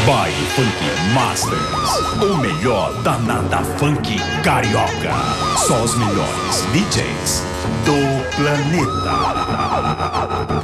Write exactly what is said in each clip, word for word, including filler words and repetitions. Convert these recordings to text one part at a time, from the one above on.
Baile Funk Masters, o melhor da nata funk carioca. Só os melhores D Js do planeta.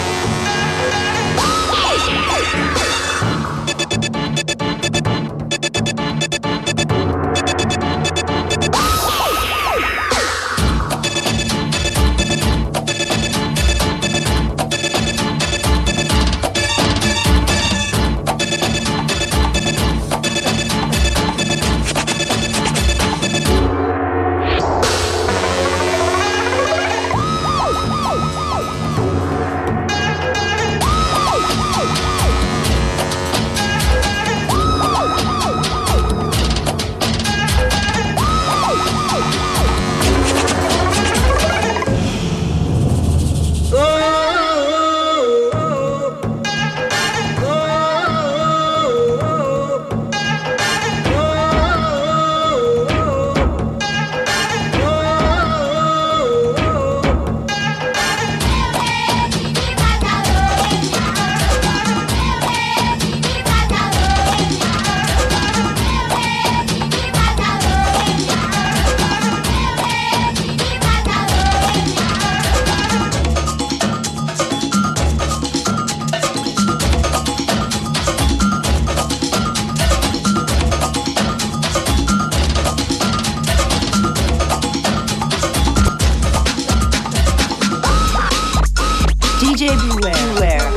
D J Beware. Beware.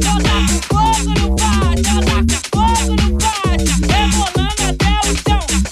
Fogo no pátio,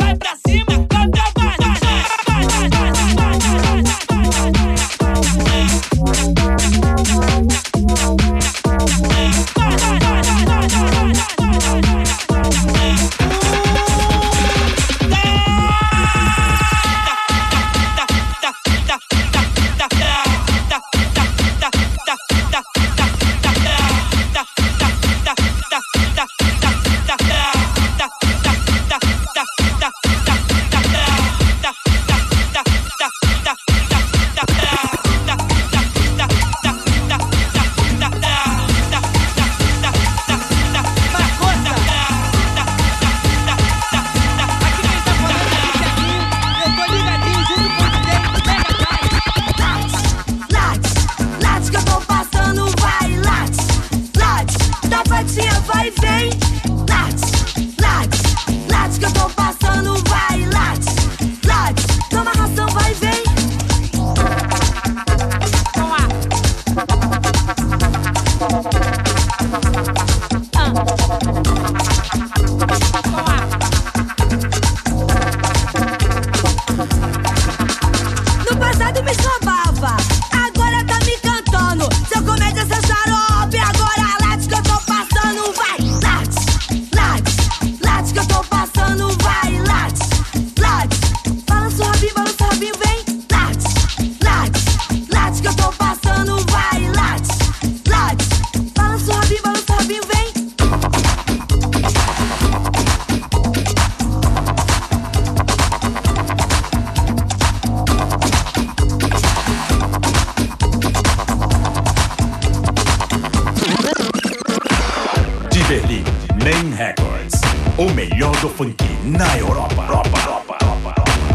O melhor do funk na Europa. Europa, Europa, Europa.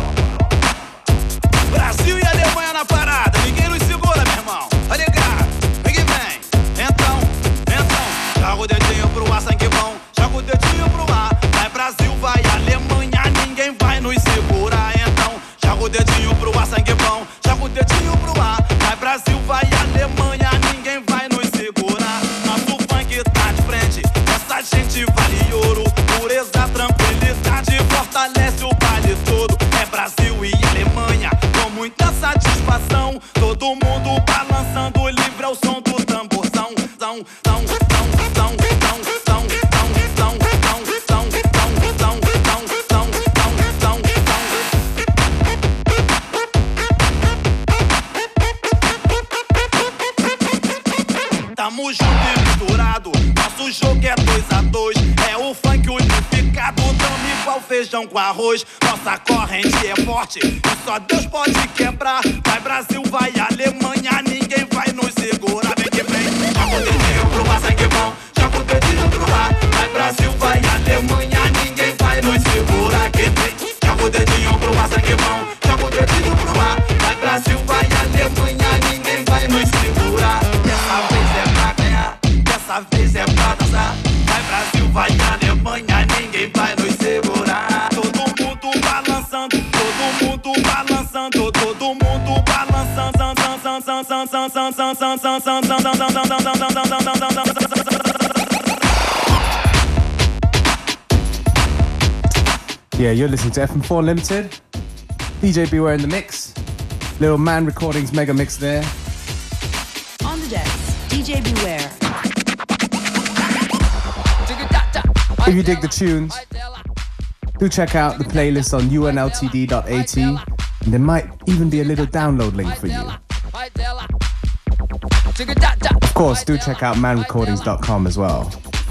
Brasil e Alemanha na parada, ninguém nos segura, meu irmão. Tá ligado? Vem que vem. Então, então, joga o dedinho pro ar, sangue bom. Joga o dedinho pro ar. Vai Brasil, vai Alemanha, ninguém vai nos segurar. Então, joga o dedinho pro ar, sangue bom. Joga o dedinho pro ar. Vai Brasil, vai Alemanha, ninguém vai nos segurar. Nosso funk tá de frente, essa gente vale ouro. Pureza, tranquilidade, fortalece o baile todo. É Brasil e Alemanha, com muita satisfação. Todo mundo balançando, livre ao som do tamborzão. Zão, zão, zão, zão, zão, zão, zão, zão, zão, zão, zão, zão, zão, zão, zão. Tamo junto e misturado, nosso jogo é dois a dois. É o funk unificado, tamo igual feijão com arroz. Nossa corrente é forte e só Deus pode quebrar. Vai Brasil, vai Alemanha, ninguém vai nos segurar. Vem que vem, joga o dedinho pro ar, sangue bom. Joga o dedinho pro ar. Vai Brasil, vai Alemanha, ninguém vai nos segurar. Que vem, joga o dedinho pro ar, sangue bom. Joga o dedinho pro ar. Vai Brasil, vai Alemanha, ninguém vai nos segurar. Dessa vez é pra ganhar, dessa vez é pra dançar. Vai Brasil, vai Alemanha, ninguém vai nos segurar. Todo mundo balançando, todo mundo balançando, todo mundo balançando. Yeah, you're listening to F M four Limited. D J Beware in the mix. Little Man Recordings mega mix there. On the decks, D J Beware. If you dig the tunes, do check out the playlist on U N L T D dot A T, and there might even be a little download link for you. Of course, do check out man recordings dot com as well.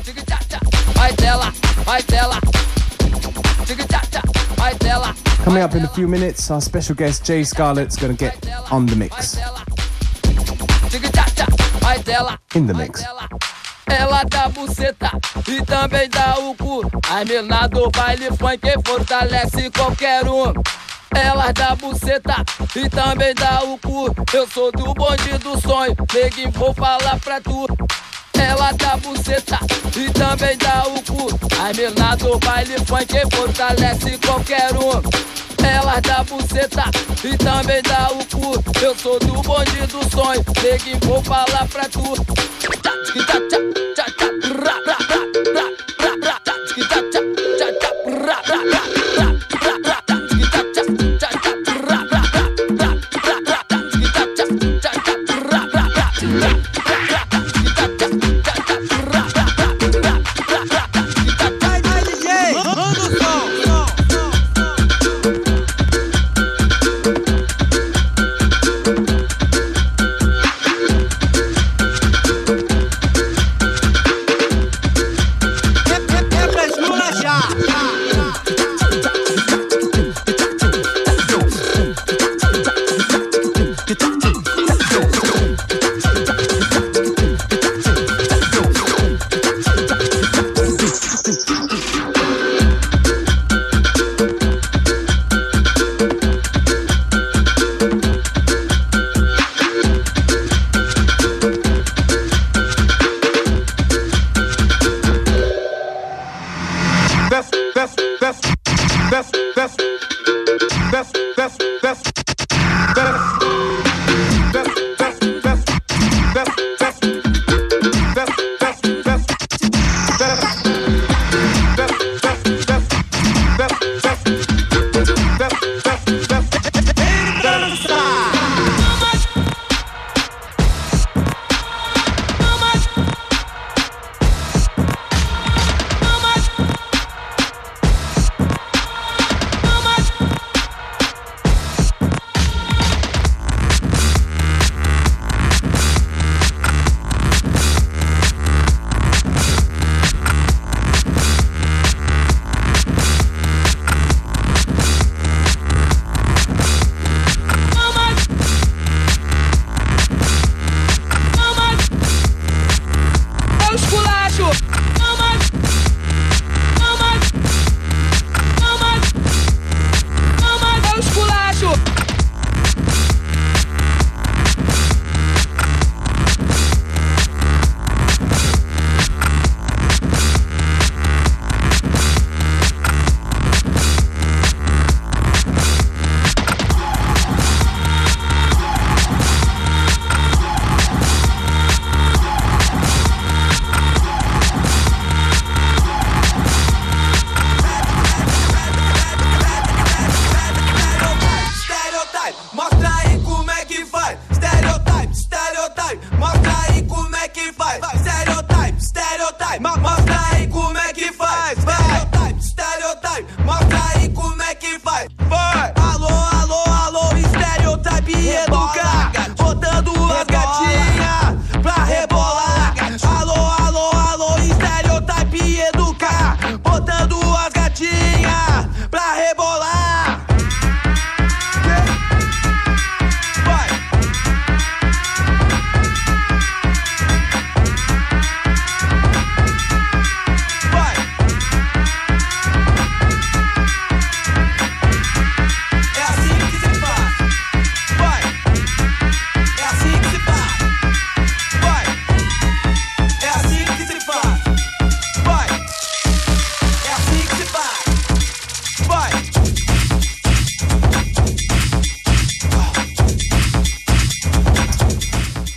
Coming up in a few minutes, our special guest Jay Scarlett's going to get on the mix. In the mix. Ela dá buceta e também dá o cu. A mina do baile funk fortalece qualquer um. Ela dá buceta e também dá o cu. Eu sou do bonde do sonho, neguinho, vou falar pra tu. Ela dá buceta e também dá o cu. A mina do baile funk fortalece qualquer um. Ela dá buceta e também dá o cu. Eu sou do bonde do sonho, neguinho, vou falar pra tu.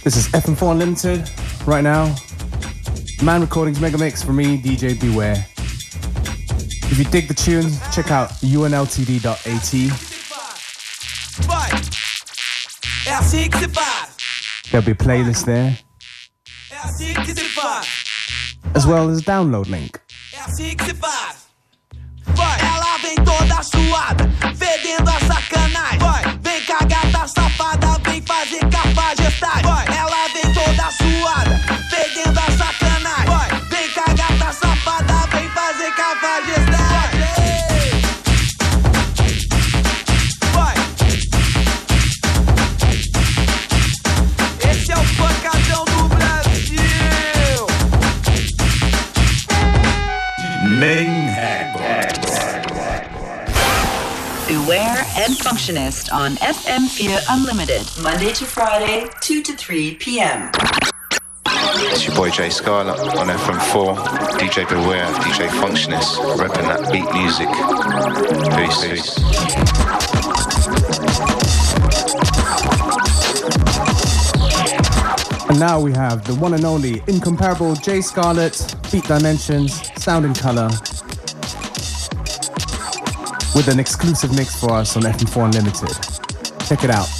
This is F M four Unlimited right now. Man Recordings Mega Mix for me, D J Beware. If you dig the tune, check out U N L T D dot A T. There'll be a playlist there, as well as a download link. Ela vem toda suada, fedendo a sacanagem. Vai, vem cá gata safada, vem fazer cafajestagem. Vai, ela vem toda suada, fedendo a sacanagem. Vai, vem cá gata safada, vem fazer cafajestagem. Vai. Esse é o pancadão do Brasil. Main Records. Beware and Functionist on F M four Unlimited, Monday to Friday, two to three p.m. It's your boy Jay Scarlett on F M four, D J Beware, D J Functionist, repping that beat music. Peace. Peace. And now we have the one and only incomparable Jay Scarlett, Beat Dimensions, Sound and Color, with an exclusive mix for us on F M four Unlimited. Check it out.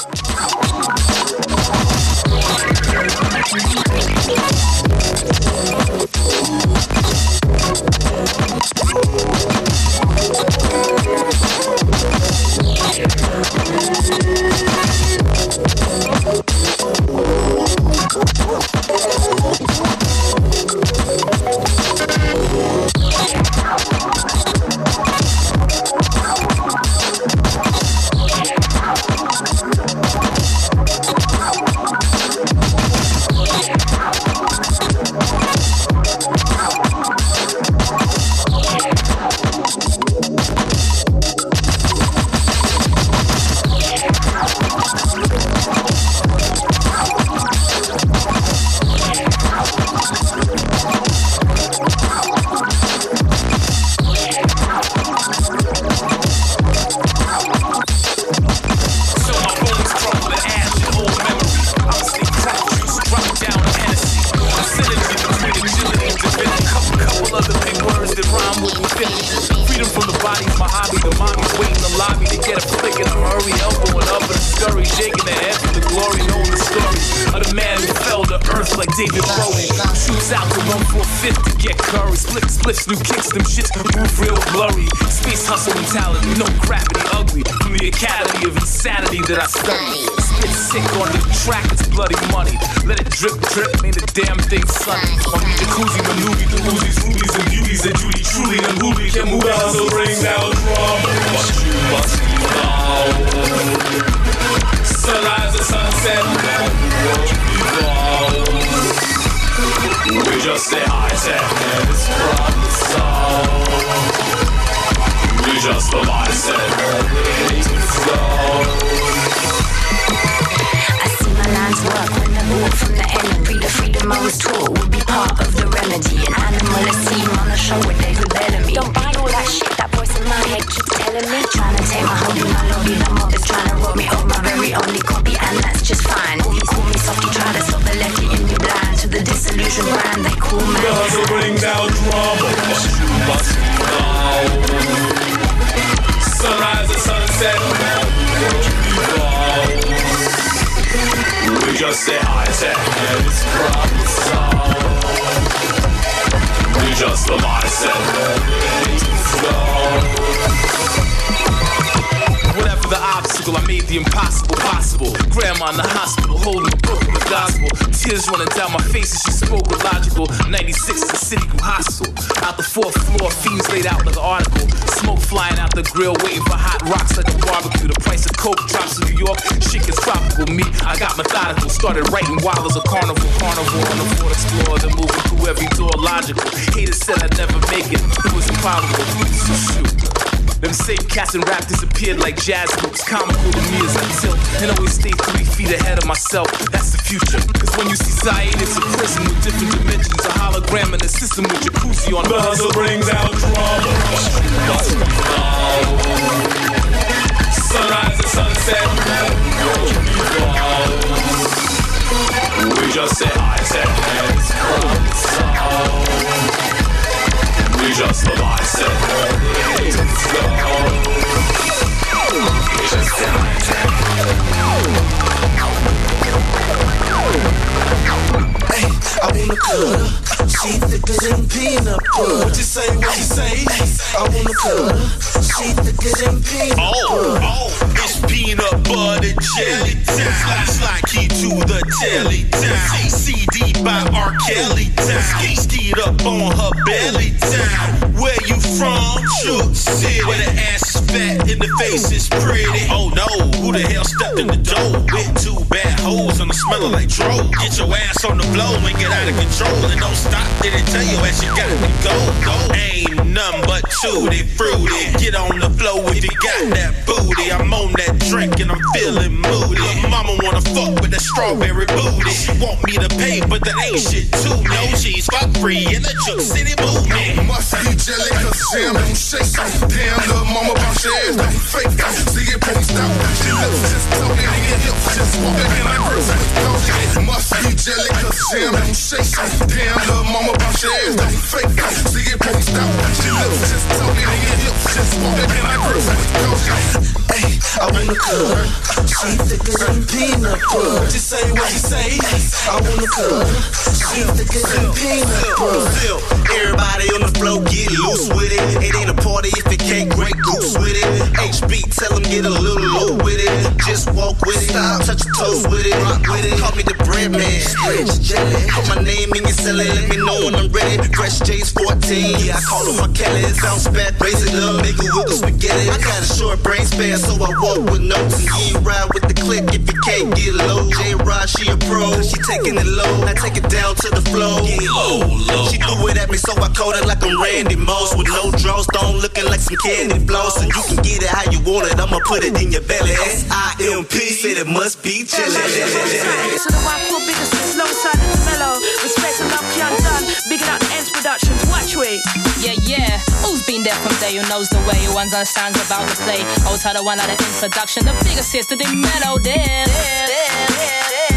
New kicks, them shits move real blurry. Space hustle mentality, no gravity, ugly. From the academy of insanity that I study. Spit sick on the track, it's bloody money. Let it drip, drip, ain't a damn thing sunny. On the jacuzzi, maneuver, the Uzis, rubies, and beauties, and Judy, truly, and Ruby can move out, so bring down drama. But you must know. Sunrise and sunset, we just say hi to and it's from the soul. We just the mindset I see my lines work when I walk from the enemy. The freedom I was taught would be part of the remedy. An animal, a scene on the show with David Bellamy. Don't buy all that shit that voice in my head keeps telling me. Trying to take my hold in my lobby. The mob is trying to rob me of my very only copy, and that's just fine. You call me soft, you try to stop the lefty in you blind to the disillusion brand they call me. Cause they bring down drama, but you must know. Sunrise and sunset, we just say hi to and it's from the soul. We just the mindset, whatever the obstacle, I made the impossible possible. Grandma in the hospital, holding the book of the gospel. Tears running down my face as she spoke illogical. ninety-six, the city grew hostile. Out the fourth floor, fiends laid out like an article. Smoke flying out the grill, waiting for hot rocks like a barbecue. The price of coke drops in New York, shit gets tropical. Me, I got methodical. Started writing wild as a carnival. Carnival on the Ford Explorer, then moving through every door logical. Haters said I'd never make it, it was improbable. So shoot. Them same cats and rap disappeared like jazz groups. Comical to me as I tilt and always stay three feet ahead of myself. That's the future. Cause when you see Zaire, it's a prison with different dimensions. A hologram in a system with jacuzzi on the hustle brings out drama. Sunrise and sunset. just said I said hands come We just said I said hands go We just said I said Hey, I wanna cut her. She thicker than peanut butter. What you say, what you say? I wanna cut her. She thicker than peanut butter. Oh, oh, it's peanut butter jelly time. Slide, slide, key to the telly time. C D by R. Kelly time. Ski skied up on her belly time. Where you from? Shook City. Where the ass is fat and the face is pretty. Oh no, who the hell stepped in the door? With two bad hoes and the smelling like dro. Get your ass on the floor and get out of control. And don't stop, they didn't tell you as you got to go, go. Ain't nothing but tutti fruity. Get on the floor if you got that booty. I'm on that drink and I'm feeling moody. Mama wanna fuck with that strawberry booty. She want me to pay, but that ain't shit too. No cheese, fuck free in the Juke City movement. Must be jelly, cause Sam don't shake. Damn, little mama bounce your ass, don't fake. See it, pony stop. She lips just talking, nigga hips just walking. And I grip with coach. Must be jelly, cause Sam don't shake. Damn, little mama bounce your ass, don't fake. See it, pony stop. She lips just talking, nigga hips just walking. And I grip with coach. Hey, I wanna cut her. She thicker than peanut butter. What you say, what you say? I wanna cut her. She thicker than peanut butter. Everybody on the floor get loose with it. It ain't a party if it can't Grey Goose with it. H B tell them get a little low with it. Just walk with it. Stop, touch your toes with it. Rock with it. Call me the bread man. Stretch jelly. Put my name in your celly. Let me know when I'm ready. Fresh J's fourteen. Yeah, I call him my Kelly. Bounce back, raise it up, make it wiggle spaghetti. I got a short brain span, so I walk with notes. And you ain't ride with the click if you can't get low. J-Rod, she a pro. She taking it low. I take it down to the floor. Get low, low. She threw it at me, so I caught it like I'm Randy Moss. With no draws, don't looking like some candy floss. And you can get it how you want it. I'ma put it in your belly. S I M P said it must be jelly. So the one cool biggest alongside the mellow. Respect and love Young Done. Bigging out the Ends Productions. Watch we. Yeah, yeah. Who's been there from day? Who knows the way? Who understands about the play? Always had the one out of introduction. The biggest hits to the mellow. There, there, there, there, there.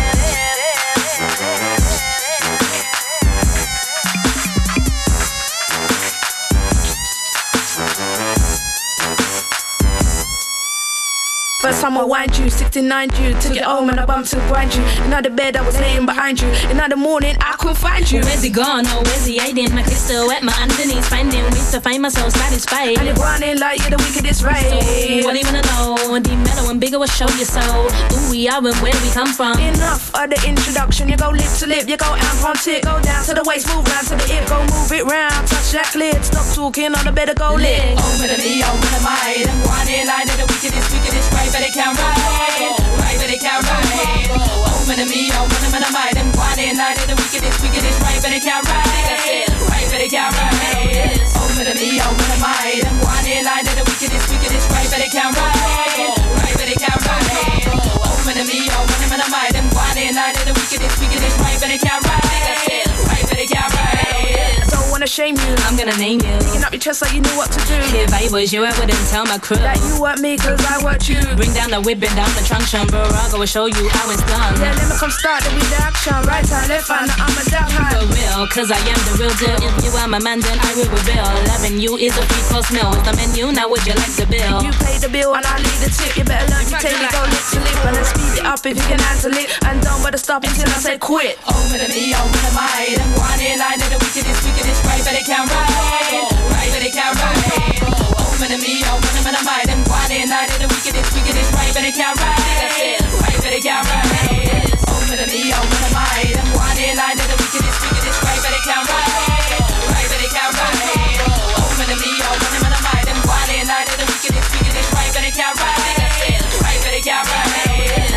First time I wind you, sixty-nine you. Took it home and I bumped to grind you. In the bed I was laying behind you. In the morning I couldn't find you. Where's he gone? Oh, where's he hiding? My kids still wet, my underneath finding ways to find myself satisfied. And you're grinding like you're the wickedest right. So, what do you wanna know? The mellow and bigger will show you so. Who we are and where we come from. Enough of the introduction. You go lip to lip, you go amp on tip. Go down to the waist, move round to the hip. Go move it round, touch that clit. Stop talking on the bed, go lit. Over to me, over to mine. I'm grinding like the wickedest, wickedest right. But they can't ride, right, but they can't ride. Over to me, over to my mind. I'm grinding like the wickedest, wickedest right. But they can't ride, right, but they can't ride. Over to me, over to mine. I'm grinding like the wickedest, wickedest right. But they can't ride, right, but they can't ride. Over to me, over to my mind. I'm grinding like the wickedest, wickedest right. But they can't ride, right, but they can't ride. Wanna shame you, I'm gonna name you. Picking up your chest like you knew what to do. If I was you, I wouldn't tell my crew that you weren't me, cause I weren't you. Bring down the whip and down the trunk, Baraga will show you how it's done. Yeah, let me come start the with the action. Right hand, left hand, I'm a dark hand. For real, cause I am the real deal. If you are my man, then I will reveal. Loving you is a free course meal. It's the menu, now would you like the bill? You pay the bill and I leave the tip. You better learn to take it, go lip to lip. And then speed it up if you can handle it. And don't bother stop until I say quit. Over to me, over to mine. I'm grinding like the wickedest, wickedest right, but they can't ride. Right, but they can't ride. Over to me, over to my mind. I'm grinding like the wickedest, wickedest right, but they can't ride. Right, but they can't ride. Over to me, over to mine. I'm grinding like the wickedest, wickedest right, but they can't ride. Right, but they can't ride. Over to me, over to my mind. I'm grinding like the wickedest, wickedest right, but they can't ride. Right, but they can't ride.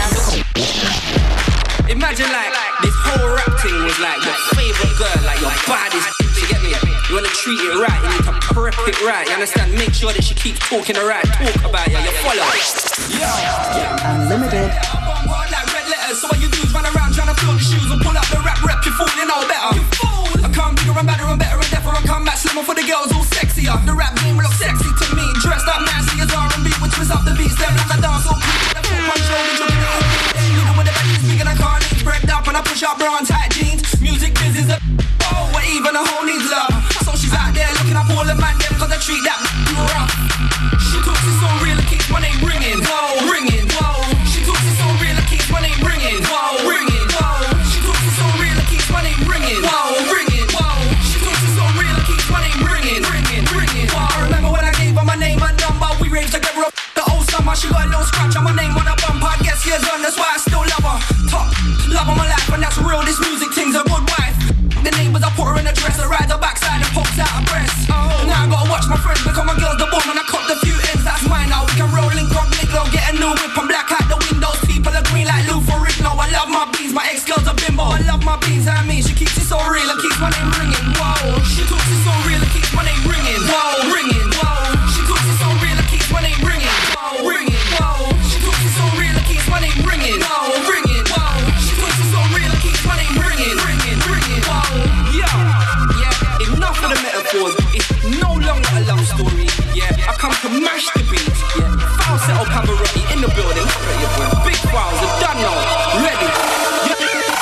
Imagine like this whole rap thing was like your favorite girl, like your baddest. You get me? You wanna treat it right, you need to prep it right. You understand? Make sure that she keeps talking the right talk about you. You follow. Yeah. Unlimited. Like red letters. So what you do is run around trying to fill the shoes and pull up the rap rep. You fool, you know better. You fool. I come bigger and better and better and deafer. I come back slimmer for the girls, all sexier. The rap game look sexy to me. Dressed up nicely as R and B, which twist up the beats. Them like a dance all cool. The full punch roll and jumping it all. You know when the back is big and I can't spread up and I push sharp bra and tight jeans. Music business a oh, where even a hoe needs love. So she's out there looking up all the man them cause I treat that rough. She talks it so real, it keeps my name ringing. Whoa, ringing, whoa. She talks it so real, it keeps my name ringing. Whoa, ringing, whoa. She talks it so real, it keeps my name ringing. Whoa, ringing, whoa. She talks it so real, it keeps my name ringing, ringing, ringing. Whoa, I remember when I gave her my name and number. We raved together up the old summer. She got a little scratch on my name on a bumper. I guess years on, that's why I still love her. Top, love of my life, and that's real. This music thing's a good wife. The neighbors, I put her in a dress, I ride her backside and pops out her breast. Oh. Now I gotta watch my friends become my girls the bomb, and I cut the few ends, that's mine now. We can roll in crop, link low, get a new whip and black out the windows. People are green like Lou Ferrigno. I love my beans, my ex-girl's a bimbo. I love my beans, I mean, she keeps it so real, and keeps my name ringing. Whoa, she talks it so real, and keeps my name ringing. Whoa, ringing, whoa. She talks it so real, and keeps my name ringing. Whoa, ringing, whoa. She talks it so real, and keeps my name ringing. Whoa, ringing, whoa. She talks it so real, and keeps my name ringing, ringing, ringing. Whoa. Yeah, yeah, enough of the metaphors. It's no longer a love story. Yeah, I come to mash the beat. Yeah, falsetto Pavarotti in the building. Big files are done now. Ready. Yeah.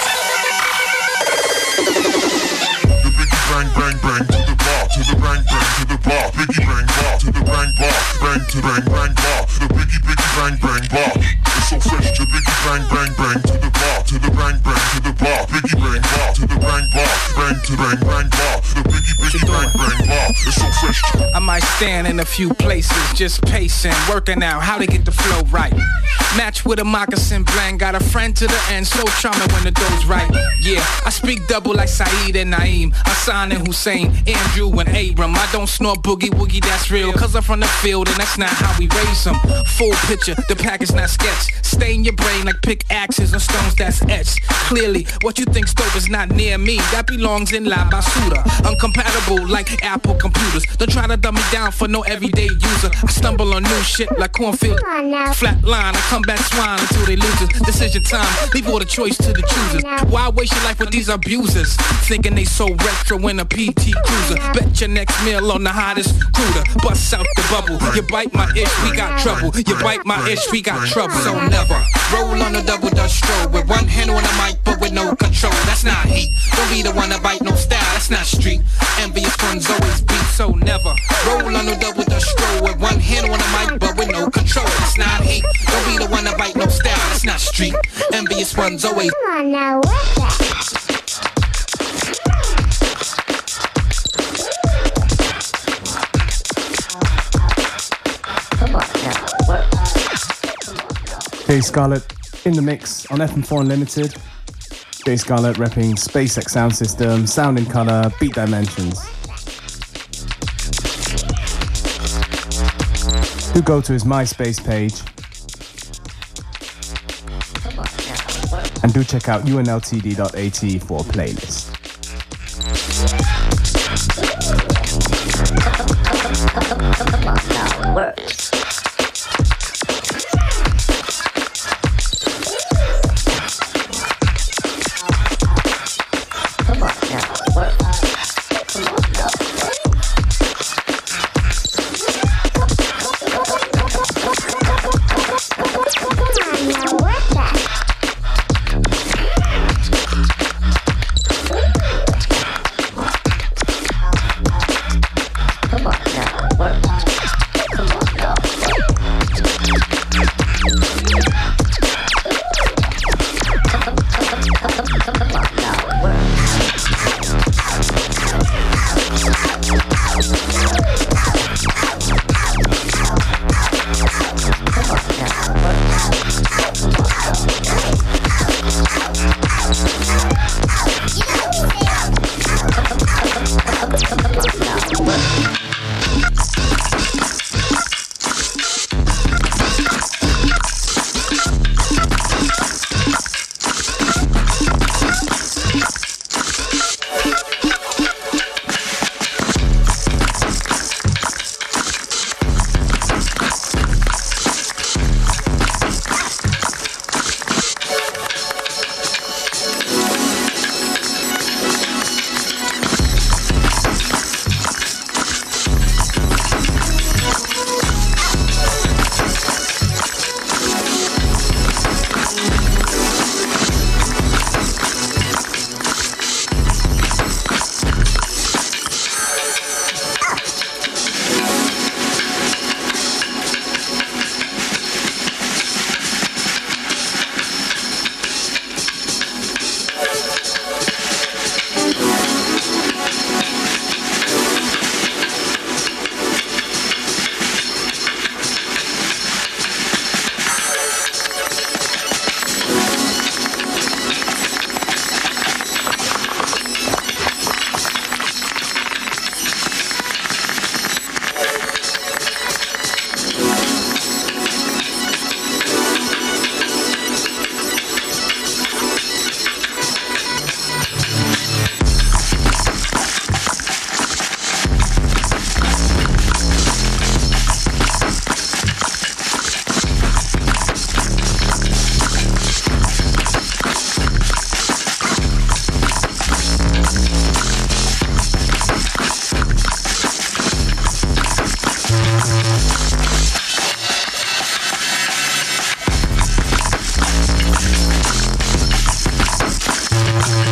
The biggie bang bang bang to the bar, to the bang bang to the bar. Biggie bang bar to the bang bar, bang to bang bang bar. The biggie biggie bang bang bar. It's so fresh to biggie bang bang bang to the bar, to the bang bang to the bar. Biggie bang bar to the bang bar, bang to bang bang bar. The biggie biggie bang bang bar. It's so fresh. I might stand in a few places, just pacing, working out how to get the flow right. Match with a moccasin blank, got a friend to the end, so charming when the dough's right. Yeah, I speak double like Saeed and Naeem, Hassan and Hussein, Andrew and Abram. I don't snort boogie woogie, that's real, cause I'm from the field and that's not how we raise them. Full picture, the pack is not sketch. Stay in your brain like pickaxes and stones that's etched. Clearly, what you think's dope is not near me, that belongs in La Basura. Uncompatible like Apple computers. Don't try to dumb me down for no everyday user. I stumble on new shit like cornfield. Flat line, I come back swine until they lose it. Decision time, leave all the choice to the choosers. Why waste your life with these abusers? Thinking they so retro in a P T Cruiser. Bet your next meal on the hottest cruiser. Bust out the bubble. You bite my itch, we got trouble. You bite my itch, we got trouble. So never roll on a double dutch stroll with one hand on the mic but with no control. That's not heat. Don't be the one to bite no style. That's not street. Envious ones always beat. So never roll on a double dutch stroll with one hand on the mic but with no control. That's not heat. Don't be the one to bite no style. That's not street. Envious ones always. Come on now, what's that? Jay Scarlett in the mix on F M four Unlimited. Jay Scarlett repping SpaceX sound system, sound in color, beat dimensions. Do go to his MySpace page and do check out U N L T D dot A T for a playlist. Works.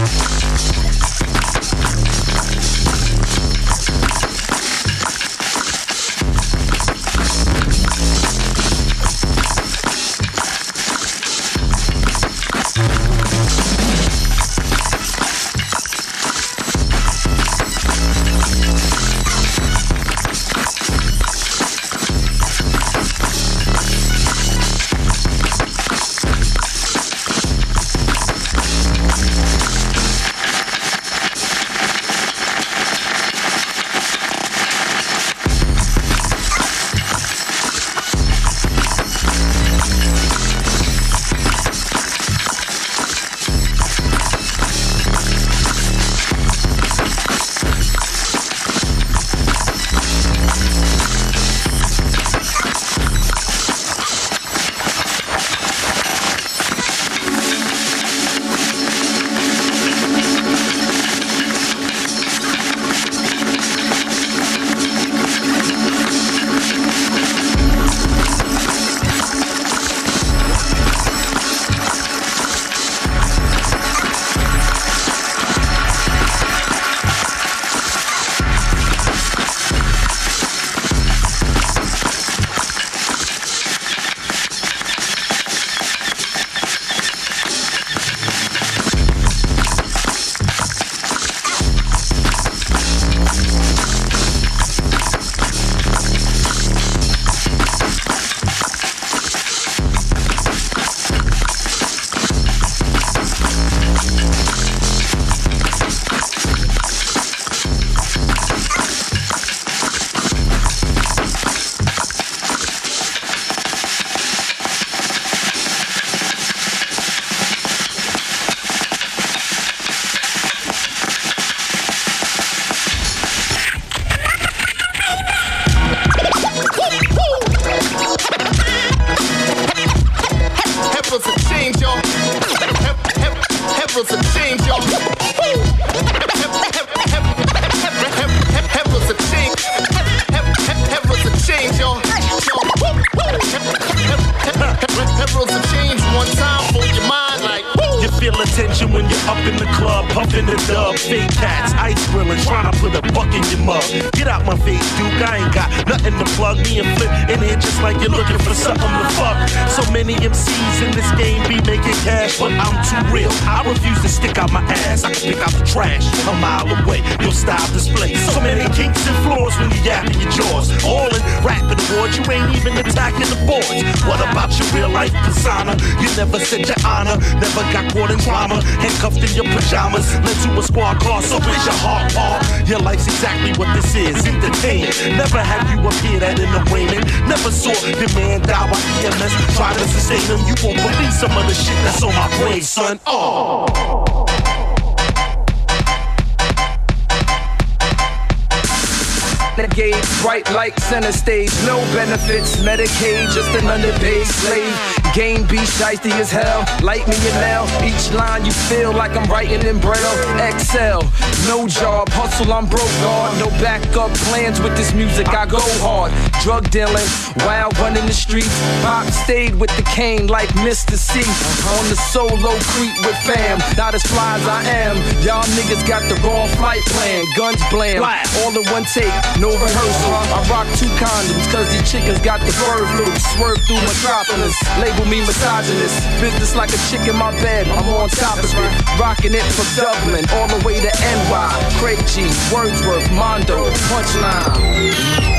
Never said your honor, never got caught in drama. Handcuffed in your pajamas, led to a squad car, so is your heart, Paul. Your life's exactly what this is, entertainment. Never have you appeared at an arraignment. Never saw your man die by E M S. Try to sustain him, you won't believe some of the shit that's on my brain, son. Oh. Renegade, bright like center stage, no benefits, Medicaid, just an underpaid slave. Game be shiesty as hell, like me and now. Each line you feel like I'm writing in Braille. Excel, no job, hustle, I'm broke, guard. No backup plans with this music, I go hard. Drug dealing, wild running the streets. Pop stayed with the cane like Mister C. On the solo creep with fam, not as fly as I am. Y'all niggas got the wrong flight plan, guns blam, all in one take, no rehearsal. I rock two condoms, cause these chickens got the bird flu. Swerve through Metropolis, label me misogynist. Business like a chick in my bed, I'm on top of it. Rocking it from Dublin, all the way to N Y. Craig G, Wordsworth, Mondo, Punchline.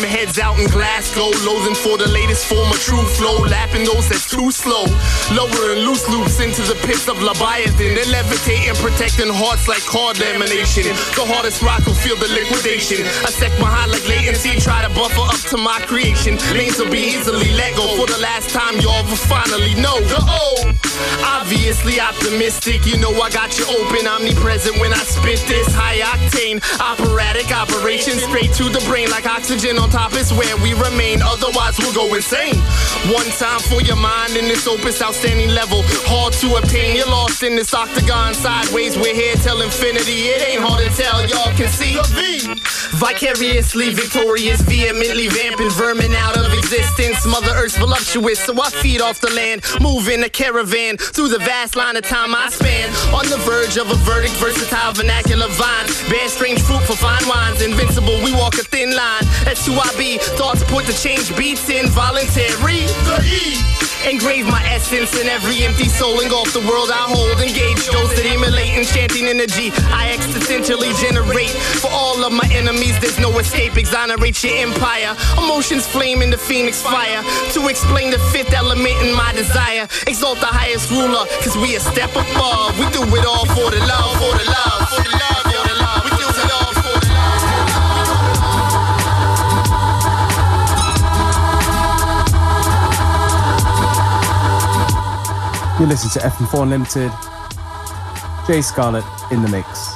heads out in Glasgow, loathing for the latest form of true flow, lapping those that's too slow, lowering loose loops into the pits of Leviathan, then levitating, protecting hearts like card lamination. The hardest rock will feel the liquidation. I sec my high like latency, try to buffer up to my creation. Lanes will be easily let go for the last time y'all will finally know. The O, obviously optimistic. You know I got you open, omnipresent when I spit this high octane operatic operation straight to the brain like oxygen on top is where we remain. Otherwise we'll go insane. One time for your mind in this opus, outstanding level, hard to obtain. You're lost in this octagon sideways. We're here till infinity. It ain't hard to tell. Y'all can see the V. Vicariously victorious, vehemently vamping vermin out of existence. Mother Earth's voluptuous, so I feed off the land, move in a caravan through the vast line of time I span. On the verge of a verdict, versatile vernacular vines, bear strange fruit for fine wines. Invincible, we walk a thin line. That's who I be. Thoughts put to change beats in voluntary. The E. Engrave my essence in every empty soul. Engulf the world I hold. Engage those that emulate enchanting energy I existentially generate. For all of my enemies, there's no escape. Exonerate your empire. Emotions flame in the phoenix fire. To explain the fifth element in my desire. Exalt the highest ruler, cause we a step above. We do it all for the love, for the love, for the love, for the love. We do it all for the You listen to F M four Unlimited. Jay Scarlett in the mix.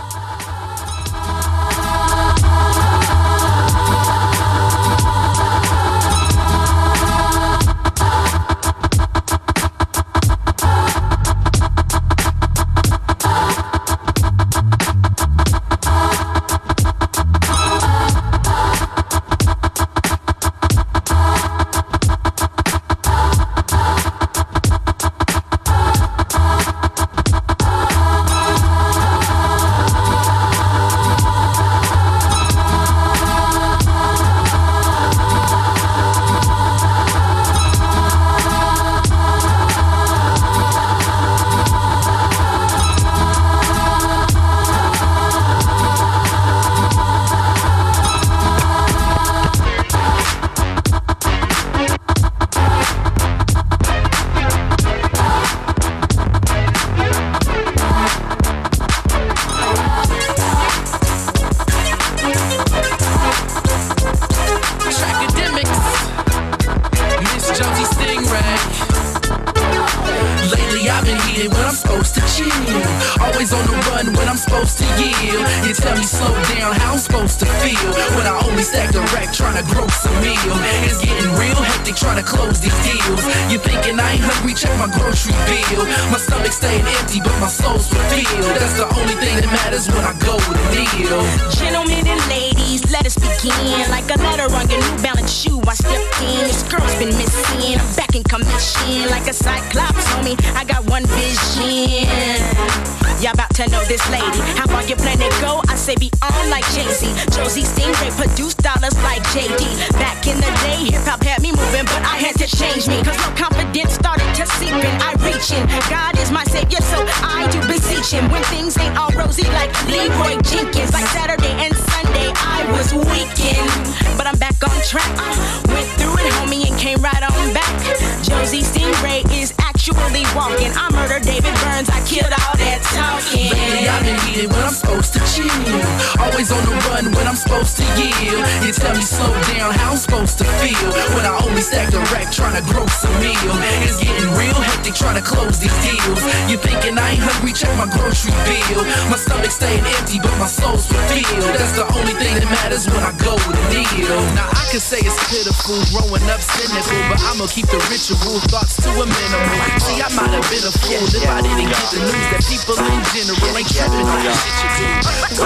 Keep the ritual thoughts to a minimum. See, I might have been a fool if I didn't get the news that people in general ain't tripping on the shit you do.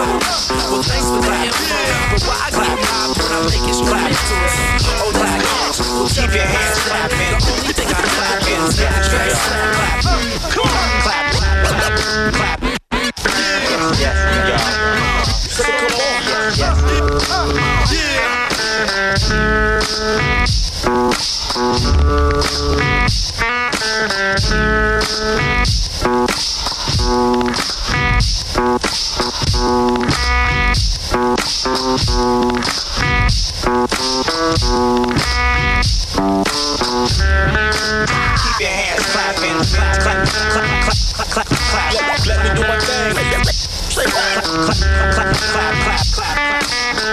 Well, thanks for the info, but why I got mobbed when I make it straight to us? Oh, like, well, keep your hands clapping. The only thing I clap is that the track clap. Come on, clap, clap, clap. Yes, yeah. So come on, yes. Yeah. your hands clapping, clap, clap, clap, clap, clap, clap. Let, let me do my thing. Clap, clap, clap, clap, clap, clap,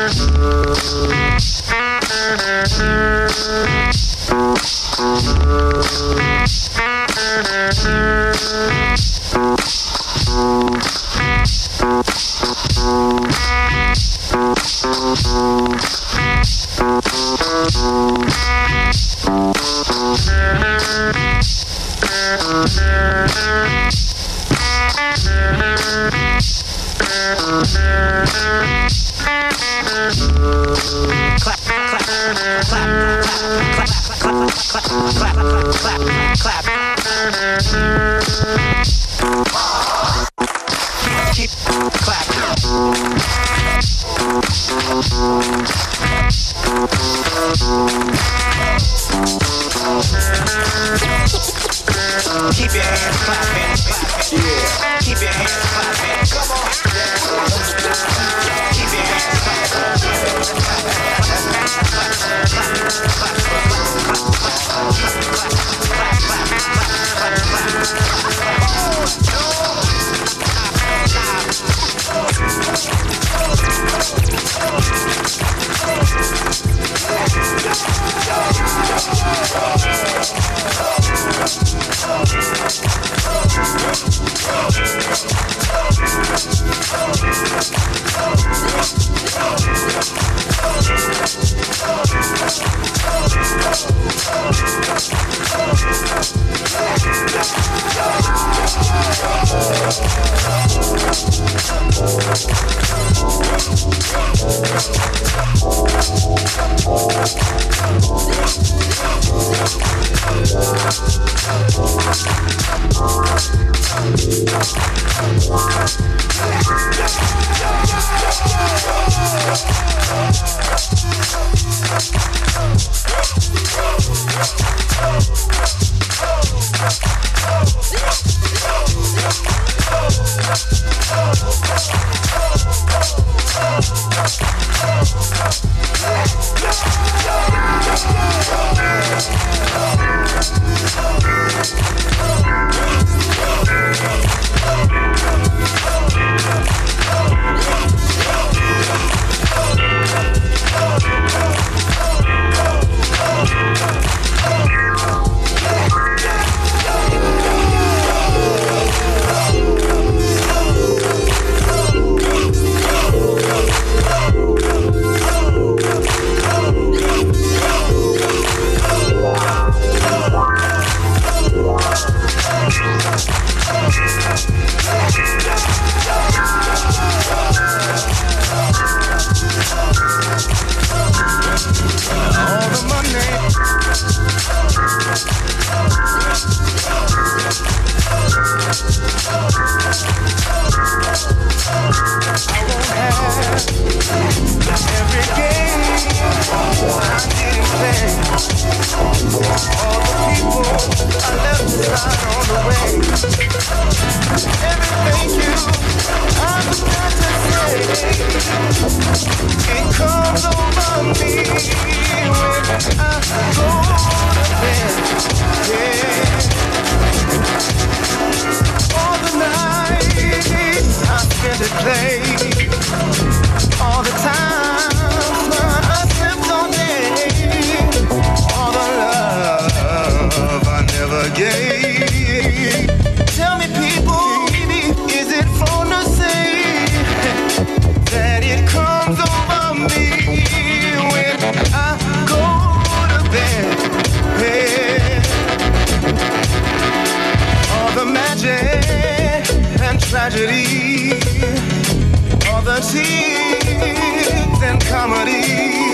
Keep your hands clapping, clapping, yeah. Keep your hands clapping, come on. Keep your hands tragedy, all the tears and comedy,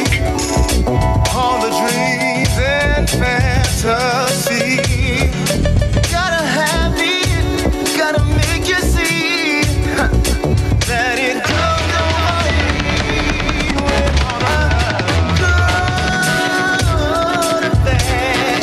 all the dreams and fantasy. Gotta have it, gotta make you see that it comes over me when I'm good or bad.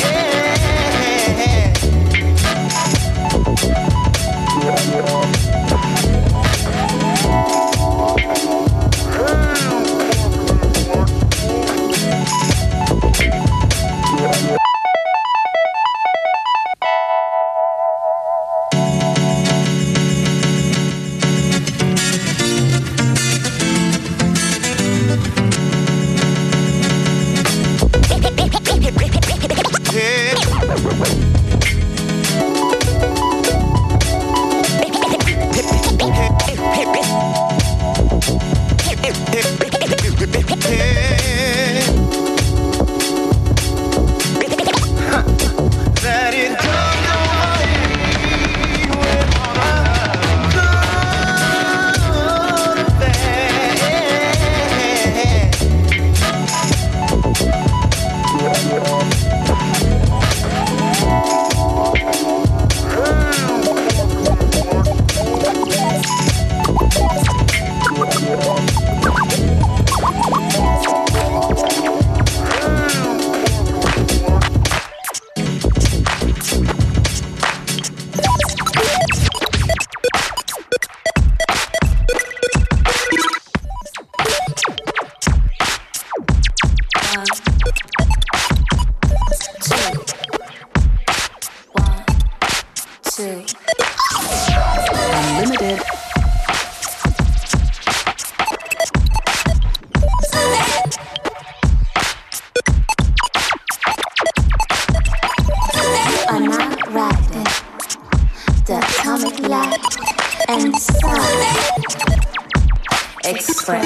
Express.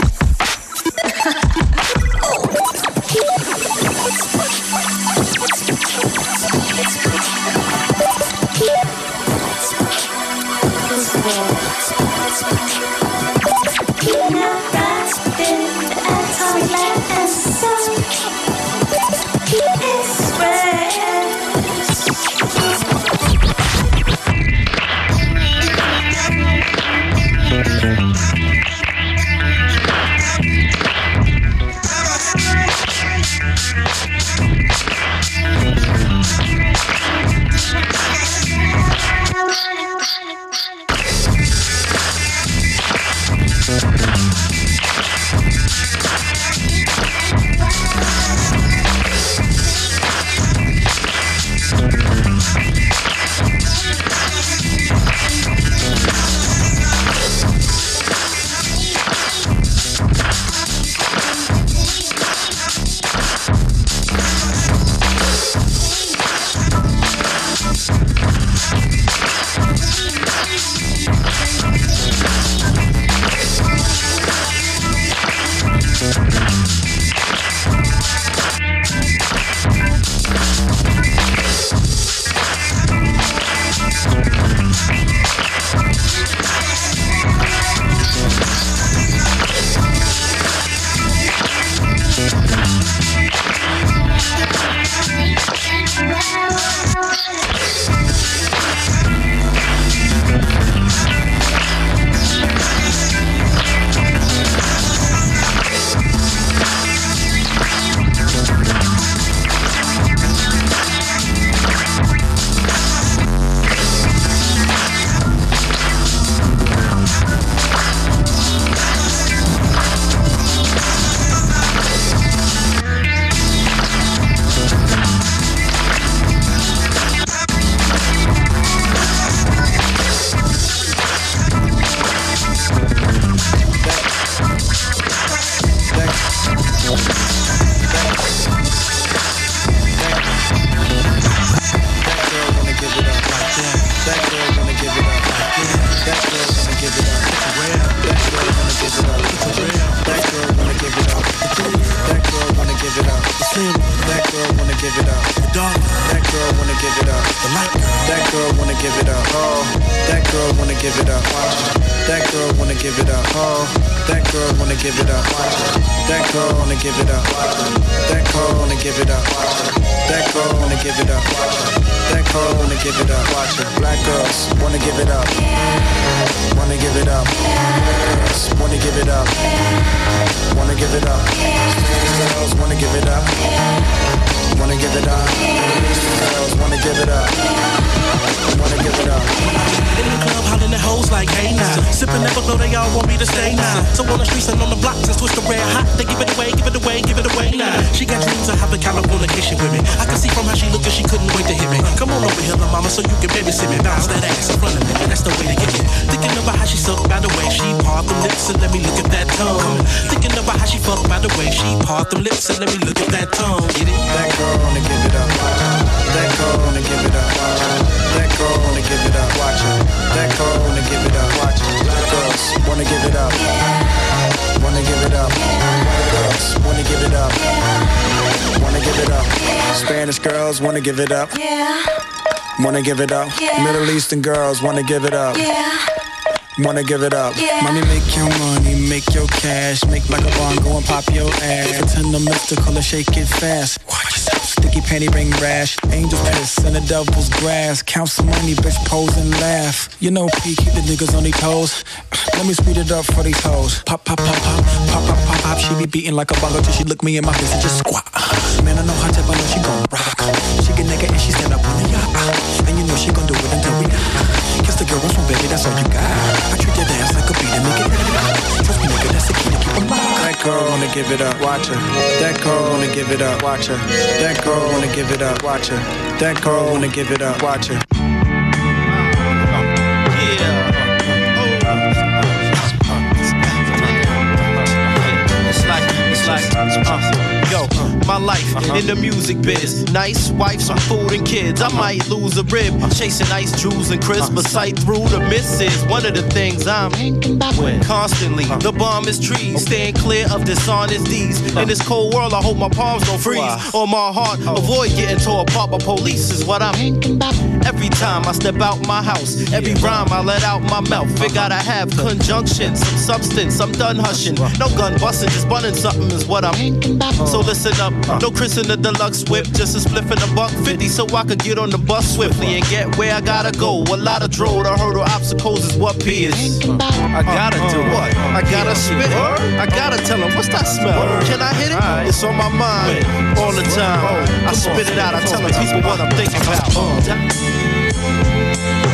Wanna give it up, yeah. Wanna give it up, yeah. Middle Eastern girls wanna give it up, yeah. Wanna give it up, yeah. Mommy make your money, make your cash, make like a bond, go and pop your ass. Pretend I'm mystical and shake it fast. Watch yourself, sticky panty ring rash. Angel piss in the devil's grass. Count some money, bitch, pose and laugh. You know P, keep the niggas on their toes. Let me speed it up for these hoes. Pop, pop, pop, pop, pop, pop, pop, pop. She be beating like a bongo till she look me in my face and just squat. Man, I know how to, I know she gon' rock. She get naked and she stand up on the yacht. And you know she gon' do it until we die. Kiss the girl once, baby, that's all you got. I treat that ass like a beat and make it. Trust me, nigga, that's the key to keep them locked. That girl wanna give it up, watch her. That girl wanna give it up, watch her. That girl wanna give it up, watch her. That girl wanna give it up, watch her. Yo, my life in the music biz. Nice wife, some food and kids. I might lose a rib chasing ice, jewels, and crisp, but sight through the misses. One of the things I'm constantly. The bomb is trees, staying clear of dishonest deeds. In this cold world, I hope my palms don't freeze. On my heart, avoid getting tore apart by police is what I'm. Every time I step out my house, every rhyme I let out my mouth. It gotta have conjunction, some substance. I'm done hushing. No gun busting, just bunning something is what I'm. So listen up, no Chris in the deluxe whip, just a spliff in a buck fifty, so I could get on the bus swiftly and get where I gotta go. A lot of droll to hurdle obstacles is what P is. I gotta do what? I gotta spit. I gotta tell them what's that smell? Can I hit it? It's on my mind all the time. I spit it out. I tell them people what I'm thinking about.